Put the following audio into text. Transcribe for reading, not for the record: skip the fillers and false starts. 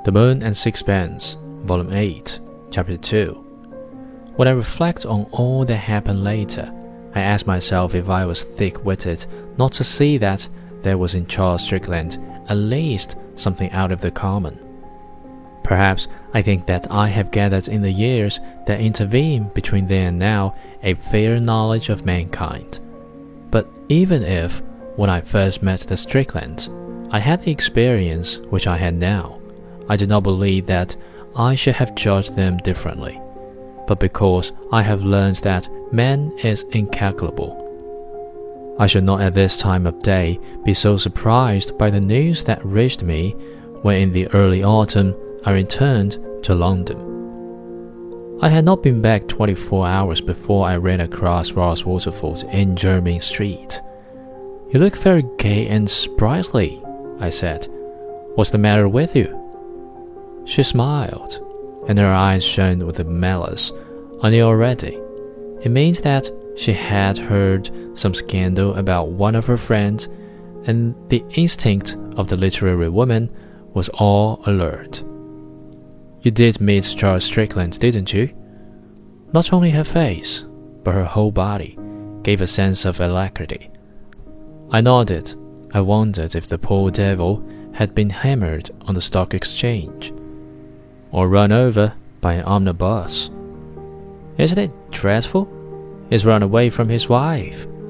The Moon and Sixpence, Volume 8, Chapter 2. When I reflect on all that happened later, I ask myself if I was thick-witted not to see that there was in Charles Strickland at least something out of the common. Perhaps I think that I have gathered in the years that intervene between then and now a fair knowledge of mankind. But even if, when I first met the Stricklands, I had the experience which I had now, I do not believe that I should have judged them differently, but because I have learned that man is incalculable. I should not at this time of day be so surprised by the news that reached me when in the early autumn I returned to London. I had not been back 24 hours before I ran across Ross Waterford in Jermyn Street. "You look very gay and sprightly," I said. "What's the matter with you?" She smiled, and her eyes shone with a malice I knew already. It means that she had heard some scandal about one of her friends, and the instinct of the literary woman was all alert. "You did meet Charles Strickland, didn't you?" Not only her face, but her whole body gave a sense of alacrity. I nodded. I wondered if the poor devil had been hammered on the Stock Exchange, or run over by an omnibus. "Isn't it dreadful? He's run away from his wife,"